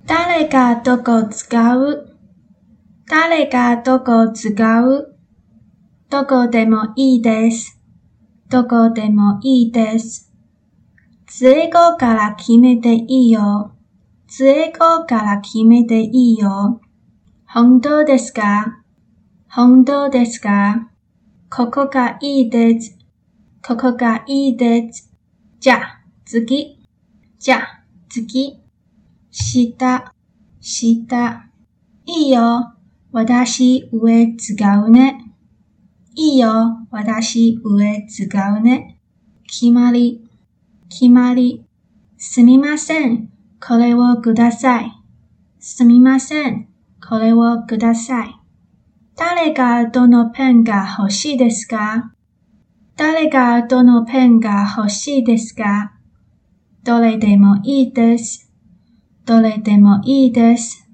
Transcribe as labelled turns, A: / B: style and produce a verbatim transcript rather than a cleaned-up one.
A: 誰がどこ使う？誰がどこ使う？どこでもいいです。どこでもいいです。最後から決めていいよ。最後から決めていいよ。本当ですか？本当ですか？ここがいいです。ここがいいです。じゃあ、次。じゃあ、次。下、下。いいよ。私上使うね。いいよ。私上使うね。決まり、決まり。すみません。これをください。すみません。これをください。誰がどのペンが欲しいですか？誰がどのペンが欲しいですか？どれでもいいです。どれでもいいです。